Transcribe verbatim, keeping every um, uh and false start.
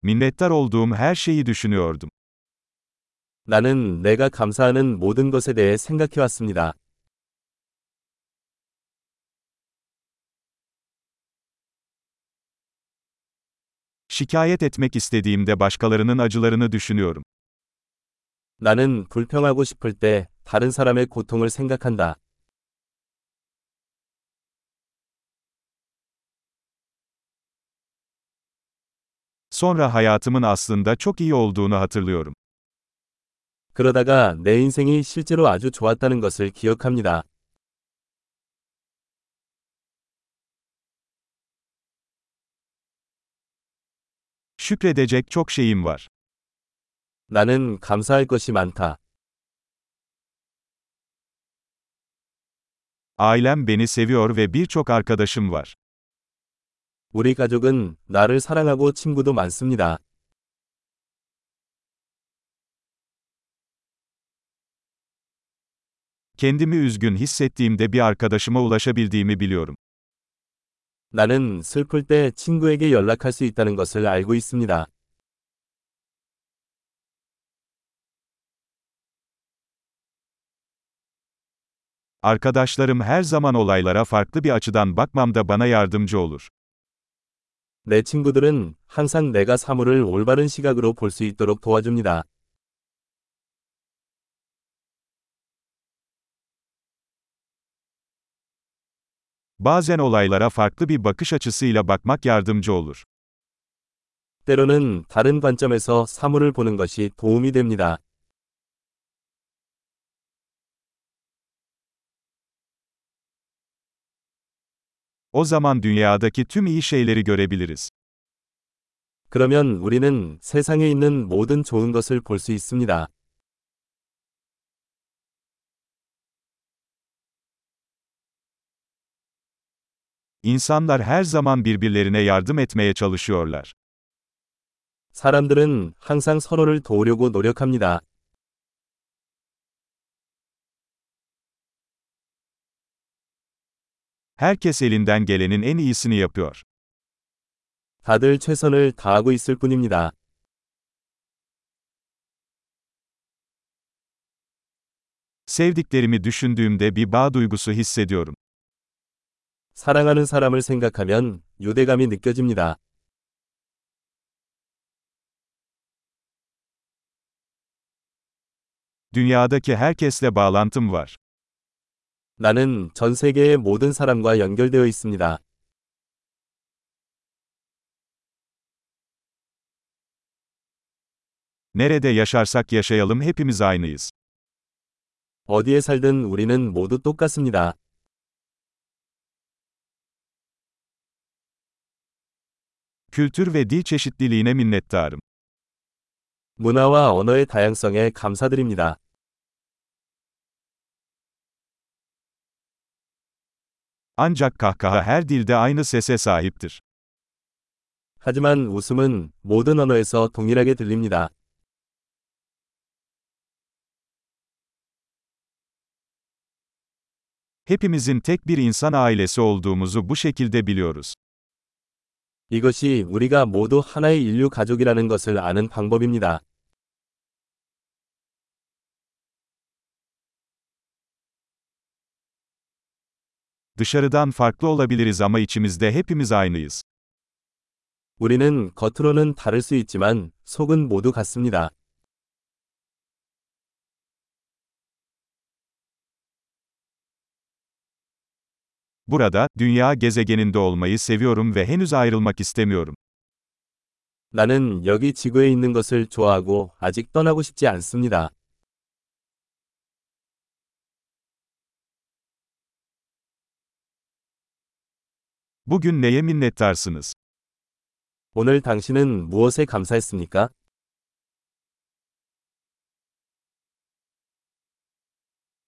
Minnettar olduğum her şeyi düşünüyordum. 나는 내가 감사하는 모든 것에 대해 생각해왔습니다. Şikayet etmek istediğimde başkalarının acılarını düşünüyorum. 나는 불평하고 싶을 때 다른 사람의 고통을 생각한다. Sonra hayatımın aslında çok iyi olduğunu hatırlıyorum. 그러다가 내 인생이 실제로 아주 좋았다는 것을 기억합니다. Şükredecek çok şeyim var. 나는 감사할 것이 많다. Ailem beni seviyor ve birçok arkadaşım var. 우리 가족은 나를 사랑하고 친구도 많습니다. Kendimi üzgün hissettiğimde bir arkadaşıma ulaşabildiğimi biliyorum. 나는 슬플 때 친구에게 연락할 수 있다는 것을 알고 있습니다. Arkadaşlarım her zaman olaylara farklı bir açıdan bakmamda bana yardımcı olur. 내 친구들은 항상 내가 사물을 올바른 시각으로 볼 수 있도록 도와줍니다. Bazen olaylara farklı bir bakış açısıyla bakmak yardımcı olur. 때로는 다른 관점에서 사물을 보는 것이 도움이 됩니다. O zaman dünyadaki tüm iyi şeyleri görebiliriz. 그러면 우리는 세상에 있는 모든 좋은 것을 볼 수 있습니다. İnsanlar her zaman birbirlerine yardım etmeye çalışıyorlar. 사람들은 항상 서로를 도우려고 노력합니다. Herkes elinden gelenin en iyisini yapıyor. 다들 최선을 다하고 있을 뿐입니다. Sevdiklerimi düşündüğümde bir bağ duygusu hissediyorum. 사랑하는 사람을 생각하면 유대감이 느껴집니다. Dünyadaki herkesle bağlantım var. 나는 전 세계의 모든 사람과 연결되어 있습니다. Nerede yaşarsak yaşayalım hepimiz aynıyız. 어디에 살든 우리는 모두 똑같습니다. Kültür ve dil çeşitliliğine minnettarım. 문화와 언어의 다양성에 감사드립니다. Ancak kahkaha her dilde aynı sese sahiptir. 하지만 웃음은 모든 언어에서 동일하게 들립니다. Hepimizin tek bir insan ailesi olduğumuzu bu şekilde biliyoruz. 이것이 우리가 모두 하나의 인류 가족이라는 것을 아는 방법입니다. Dışarıdan farklı olabiliriz ama içimizde hepimiz aynıyız. 우리는 겉으로는 다를 수 있지만 속은 모두 같습니다. Burada, dünya gezegeninde olmayı seviyorum ve henüz ayrılmak istemiyorum. 나는 여기 지구에 있는 것을 좋아하고 아직 떠나고 싶지 않습니다. Bugün neye minnettarsınız? 오늘 당신은 무엇에 감사했습니까?